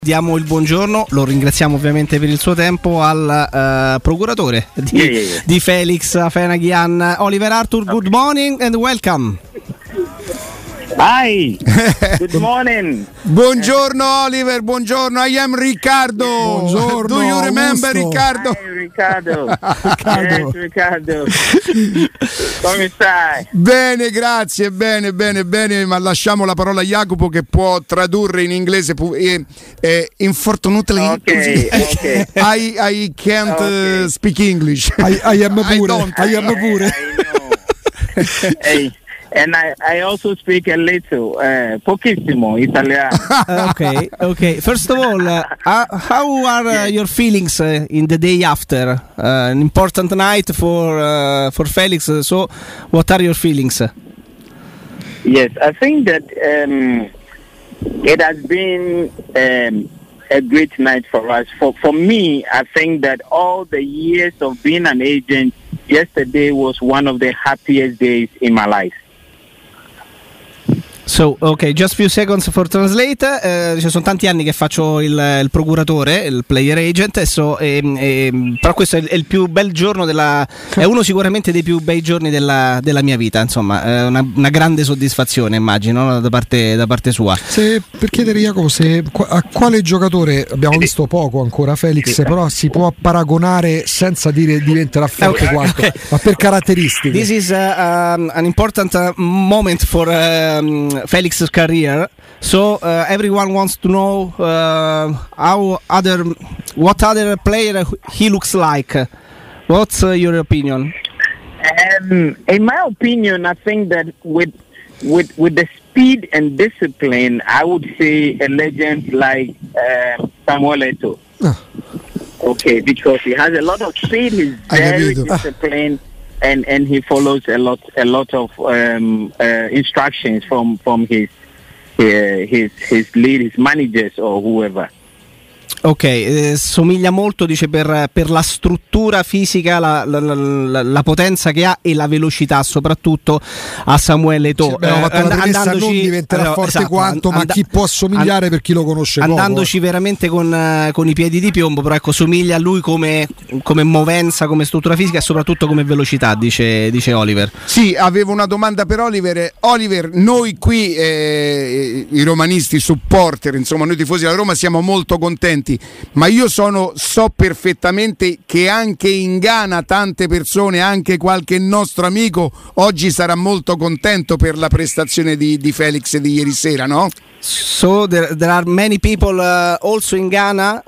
Diamo il buongiorno, lo ringraziamo ovviamente per il suo tempo al procuratore di Felix Afena-Gyan, Oliver Arthur. Good morning and welcome. Hi, good morning. Buongiorno Oliver, buongiorno. I am Riccardo. Buongiorno. Do you remember Augusto. Riccardo? Hi, Riccardo. Yes, Riccardo. Come stai? Bene, grazie, bene, ma lasciamo la parola a Jacopo che può tradurre in inglese. Unfortunately, Okay. I can't speak English. I am pure. don't. I am pure. I know. Hey, and I also speak a little, pochissimo Italiano. Okay. First of all, how are your feelings in the day after? An important night for Felix. So, what are your feelings? Yes, I think that it has been a great night for us. For me, I think that all the years of being an agent, yesterday was one of the happiest days in my life. So, okay, just few seconds for translate. Ci sono tanti anni che faccio il procuratore, il player agent, però questo è il più bel giorno è uno sicuramente dei più bei giorni della mia vita, insomma, una grande soddisfazione, immagino, da parte sua. Per chiedere Jacopo a quale giocatore, abbiamo visto poco ancora Felix, però si può paragonare senza dire diventerà forte quanto, ma per caratteristiche. This is an important moment for Felix's career, so everyone wants to know what other player he looks like. What's your opinion? In my opinion, I think that with the speed and discipline, I would say a legend like Samuel Eto'o. Okay, because he has a lot of speed, he's very disciplined. And he follows a lot of instructions from his lead, his managers or whoever. Ok, somiglia molto, dice, per la struttura fisica, la potenza che ha e la velocità soprattutto a Samuel Eto'o. Abbiamo fatto la premessa, non diventerà forte quanto, ma chi può somigliare per chi lo conosce andandoci poco. Veramente con i piedi di piombo, però ecco, somiglia a lui come movenza, come struttura fisica e soprattutto come velocità, dice Oliver. Sì, avevo una domanda per Oliver. Oliver, noi qui i romanisti, supporter, insomma noi tifosi della Roma siamo molto contenti, ma io so perfettamente che anche in Ghana tante persone, anche qualche nostro amico oggi sarà molto contento per la prestazione di Felix di ieri sera, no? So there are many people also in Ghana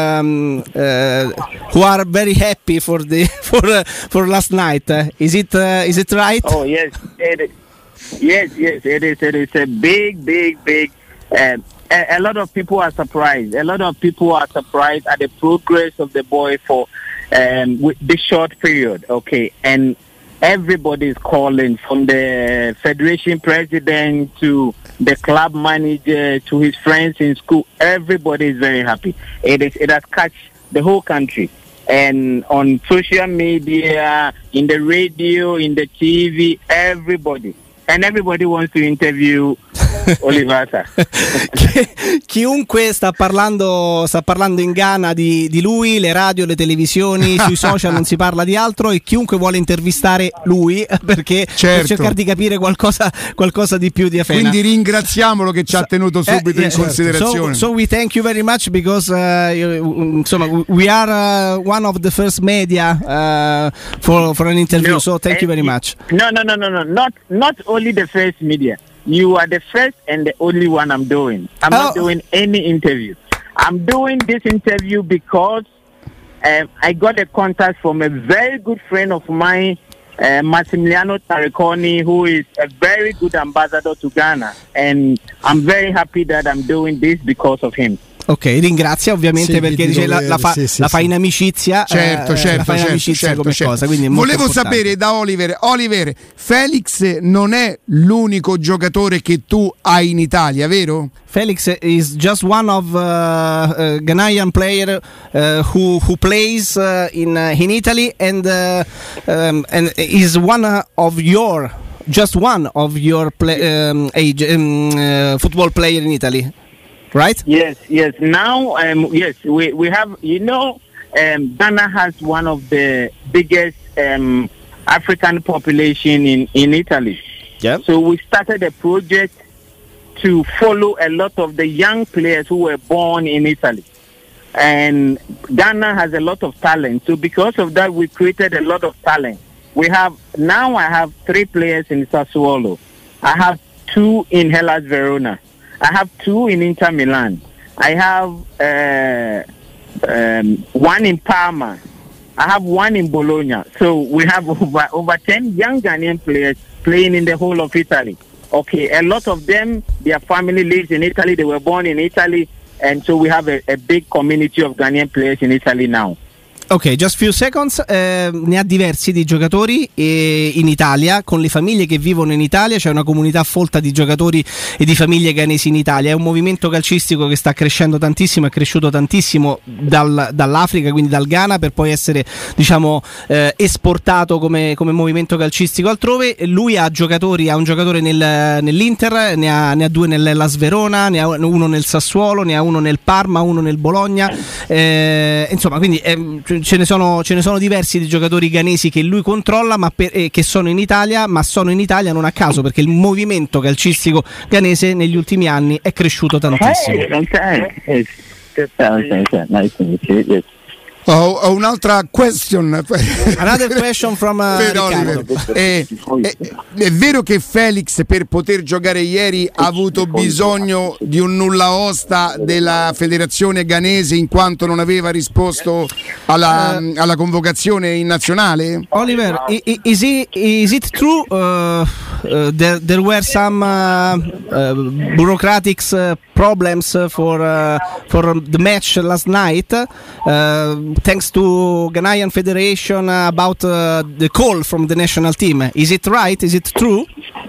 who are very happy for last night. Is it right? Oh yes, it is. Yes, it is. It is a big. A lot of people are surprised. A lot of people are surprised at the progress of the boy for with this short period. Okay, and everybody is calling, from the federation president to the club manager to his friends in school. Everybody is very happy. It has catch the whole country, and on social media, in the radio, in the TV, everybody wants to interview Olivata. Chiunque sta parlando in Ghana di lui, le radio, le televisioni, sui social non si parla di altro, e chiunque vuole intervistare lui per cercare di capire qualcosa di più di Afena. Quindi ringraziamolo che ci ha tenuto subito in considerazione. So we thank you very much because we are one of the first media for an interview. So thank you very much. No. Not only the first media. You are the first and the only one I'm doing. I'm not doing any interview. I'm doing this interview because I got a contact from a very good friend of mine, Massimiliano Tariconi, who is a very good ambassador to Ghana. And I'm very happy that I'm doing this because of him. Ok, ringrazia ovviamente, perché dice la fa in amicizia. Certo. Cosa, quindi è volevo importante sapere da Oliver, Felix non è l'unico giocatore che tu hai in Italia, vero? Felix is just one of Ghanaian player who plays in Italy and is one of your football player in Italy. right? Yes. Now, yes, we have, Ghana has one of the biggest African population in Italy. Yeah. So we started a project to follow a lot of the young players who were born in Italy. And Ghana has a lot of talent. So because of that, we created a lot of talent. I have 3 players in Sassuolo. I have 2 in Hellas Verona. I have 2 in Inter Milan. I have 1 in Parma. I have 1 in Bologna. So we have over 10 young Ghanaian players playing in the whole of Italy. Okay, a lot of them, their family lives in Italy. They were born in Italy. And so we have a big community of Ghanaian players in Italy now. Ok, just few seconds. Ne ha diversi di giocatori in Italia, con le famiglie che vivono in Italia. C'è una comunità folta di giocatori e di famiglie ghanesi in Italia. È un movimento calcistico che sta crescendo tantissimo, è cresciuto tantissimo dall'Africa, quindi dal Ghana, per poi essere, diciamo, esportato come movimento calcistico altrove. Lui ha un giocatore nell'Inter, ne ha 2 nell'Hellas Verona, ne ha 1 nel Sassuolo, ne ha 1 nel Parma, 1 nel Bologna. Insomma, quindi ce ne sono diversi di giocatori ghanesi che lui controlla, che sono in Italia, ma sono in Italia non a caso, perché il movimento calcistico ghanese negli ultimi anni è cresciuto tantissimo. Ho un'altra question. Another question from Riccardo. È vero che Felix, per poter giocare ieri, ha avuto bisogno di un nulla osta della federazione ghanese in quanto non aveva risposto alla convocazione in nazionale? Oliver, is it true there were some bureaucratic problems for the match last night? Thanks to Ghanaian Federation about the call from the national team. Is it right? Is it true?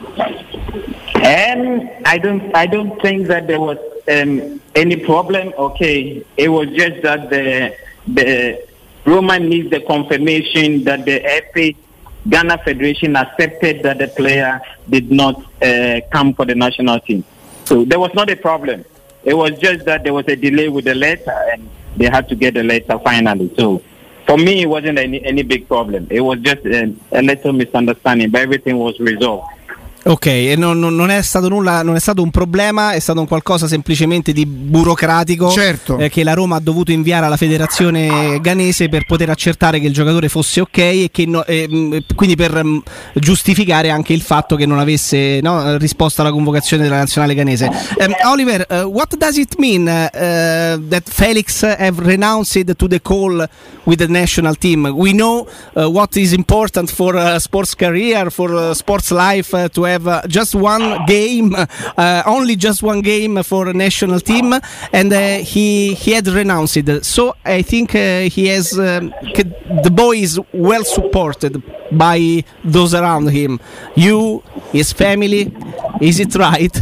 I don't think that there was any problem. Okay, it was just that the Roman needs the confirmation that the FA Ghana Federation accepted that the player did not come for the national team. So there was not a problem. It was just that there was a delay with the letter and they had to get the letter finally. So for me, it wasn't any big problem. It was just a little misunderstanding, but everything was resolved. Ok, e non è stato nulla, non è stato un problema, è stato un qualcosa semplicemente di burocratico, certo, che la Roma ha dovuto inviare alla federazione ghanese per poter accertare che il giocatore fosse ok e che quindi per giustificare anche il fatto che non avesse risposto alla convocazione della nazionale ghanese. Oliver, what does it mean that Felix have renounced to the call with the national team? We know what is important for sports career, for sports life, to have just one game, only just one game for a national team, and he had renounced. So I think he has the boy is well supported by those around him. You, his family, is it right?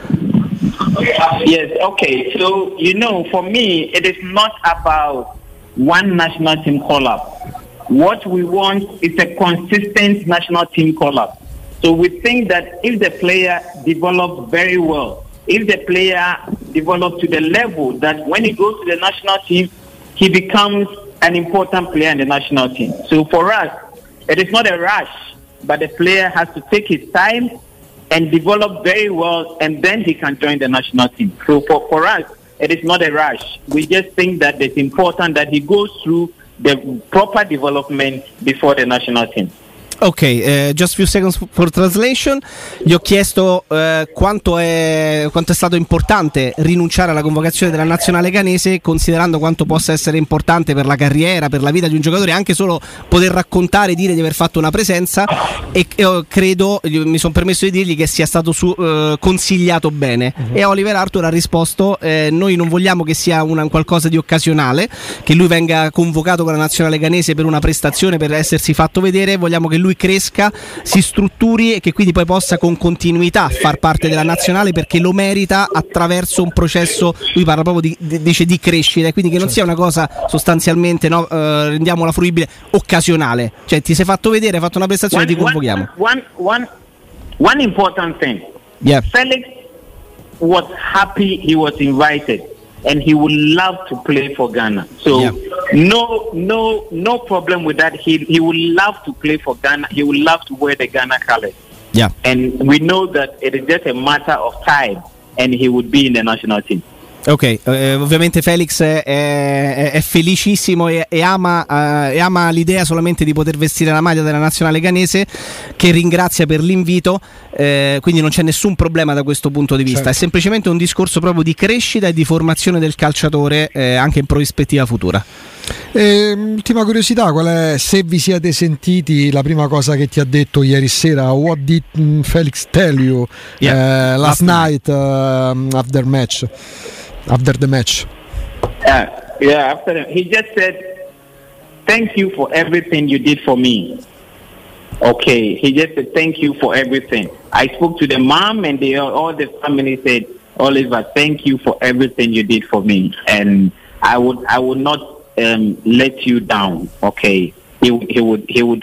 Yes. Okay. So for me, it is not about one national team call-up. What we want is a consistent national team call-up. So we think that if the player develops very well, if the player develops to the level that when he goes to the national team, he becomes an important player in the national team. So for us, it is not a rush, but the player has to take his time and develop very well, and then he can join the national team. So for us, it is not a rush. We just think that it's important that he goes through the proper development before the national team. Ok, just few seconds for translation. Gli ho chiesto quanto è stato importante rinunciare alla convocazione della nazionale ghanese, considerando quanto possa essere importante per la carriera, per la vita di un giocatore, anche solo poter raccontare, dire di aver fatto una presenza, e credo, mi sono permesso di dirgli che sia stato consigliato bene. E Oliver Arthur ha risposto: noi non vogliamo che sia un qualcosa di occasionale, che lui venga convocato con la nazionale ghanese per una prestazione, per essersi fatto vedere. Vogliamo che lui cresca, si strutturi e che quindi poi possa con continuità far parte della nazionale, perché lo merita attraverso un processo, lui parla proprio dice di crescita, quindi che non sia una cosa sostanzialmente rendiamola fruibile, occasionale, cioè ti sei fatto vedere, hai fatto una prestazione, ti convochiamo. One important thing. Yeah. Felix was happy he was invited, and he would love to play for Ghana. So no problem with that. He would love to play for Ghana. He would love to wear the Ghana colors. Yeah. And we know that it is just a matter of time, and he would be in the national team. Ok, ovviamente Felix è felicissimo e ama l'idea solamente di poter vestire la maglia della nazionale ghanese, che ringrazia per l'invito, quindi non c'è nessun problema da questo punto di vista, certo. È semplicemente un discorso proprio di crescita e di formazione del calciatore anche in prospettiva futura. Ultima curiosità, qual è, se vi siete sentiti, la prima cosa che ti ha detto ieri sera? What did Felix tell you last night after the match? After he just said, "Thank you for everything you did for me." Okay, he just said, "Thank you for everything." I spoke to the mom, and all the family said, "Oliver, thank you for everything you did for me, and I would not let you down." Okay, he would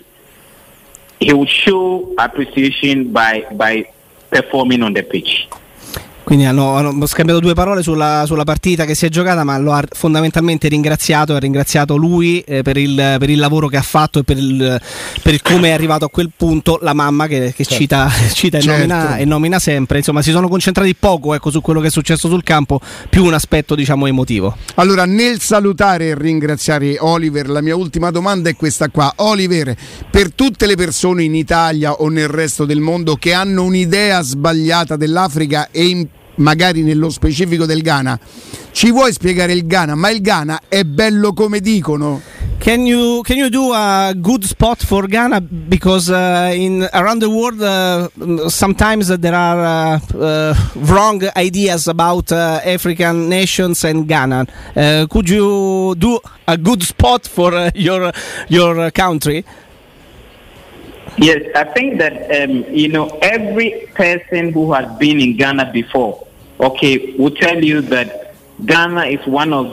show appreciation by performing on the pitch. Quindi hanno scambiato due parole sulla partita che si è giocata, ma lo ha fondamentalmente ringraziato. Ha ringraziato lui per il lavoro che ha fatto e per il come è arrivato a quel punto. La mamma che certo. cita e nomina sempre. Insomma, si sono concentrati poco su quello che è successo sul campo, più un aspetto diciamo emotivo. Allora, nel salutare e ringraziare Oliver, la mia ultima domanda è questa qua. Oliver, per tutte le persone in Italia o nel resto del mondo che hanno un'idea sbagliata dell'Africa e magari nello specifico del Ghana, ci vuoi spiegare il Ghana? Ma il Ghana è bello come dicono? Can you do a good spot for Ghana, because around the world sometimes there are wrong ideas about African nations and Ghana. Could you do a good spot for your country? Yes, I think that every person who has been in Ghana before, will tell you that Ghana is one of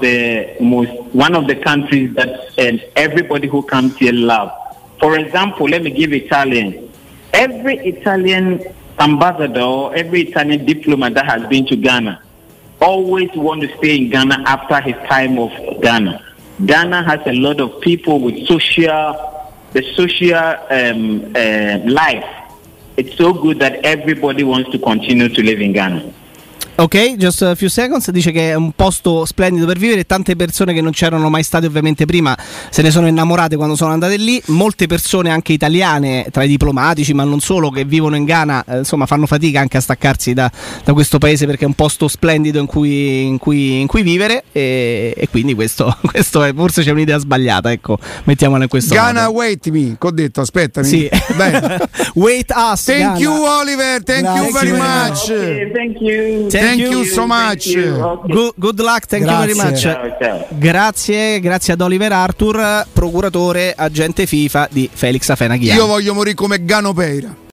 the countries that everybody who comes here love. For example, let me give Italian. Every Italian ambassador, every Italian diplomat that has been to Ghana always want to stay in Ghana after his time of Ghana. Ghana has a lot of people with the social life. It's so good that everybody wants to continue to live in Ghana. Ok, just a few seconds. Dice che è un posto splendido per vivere. Tante persone che non c'erano mai state ovviamente prima se ne sono innamorate quando sono andate lì. Molte persone anche italiane tra i diplomatici, ma non solo, che vivono in Ghana, insomma fanno fatica anche a staccarsi da questo paese, perché è un posto splendido in cui vivere, e quindi questo è, forse c'è un'idea sbagliata, ecco, mettiamola in questo Ghana modo. Wait me, che ho detto, aspettami. Sì. Wait us. Thank Ghana. you Oliver, thank you very much. Okay, thank you so much. Okay. Good luck, thank you very much. Ciao. Grazie ad Oliver Arthur, procuratore agente FIFA di Felix Afena-Ghiani. Io voglio morire come Gano Peira.